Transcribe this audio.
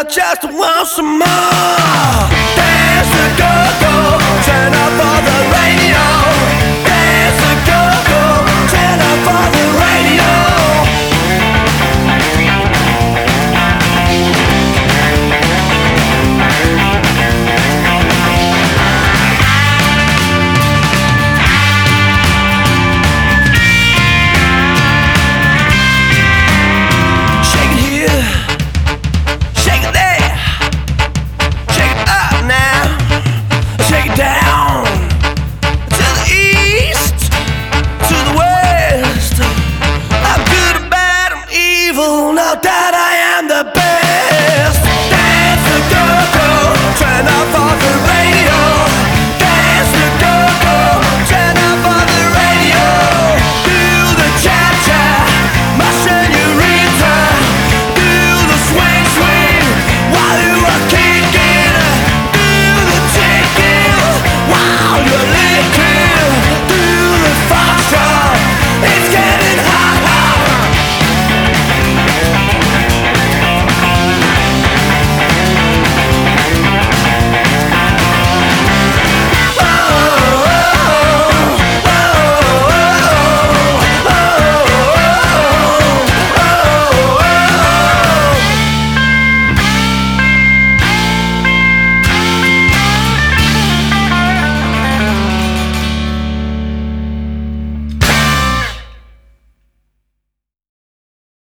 just want some more. Dance the go-go, turn up all the radio. Dance the go-go, turn up all the radio. Shake it here, shake it there, shake it up now, shake it down, to the east, to the west. I'm good or bad, I'm evil, no doubt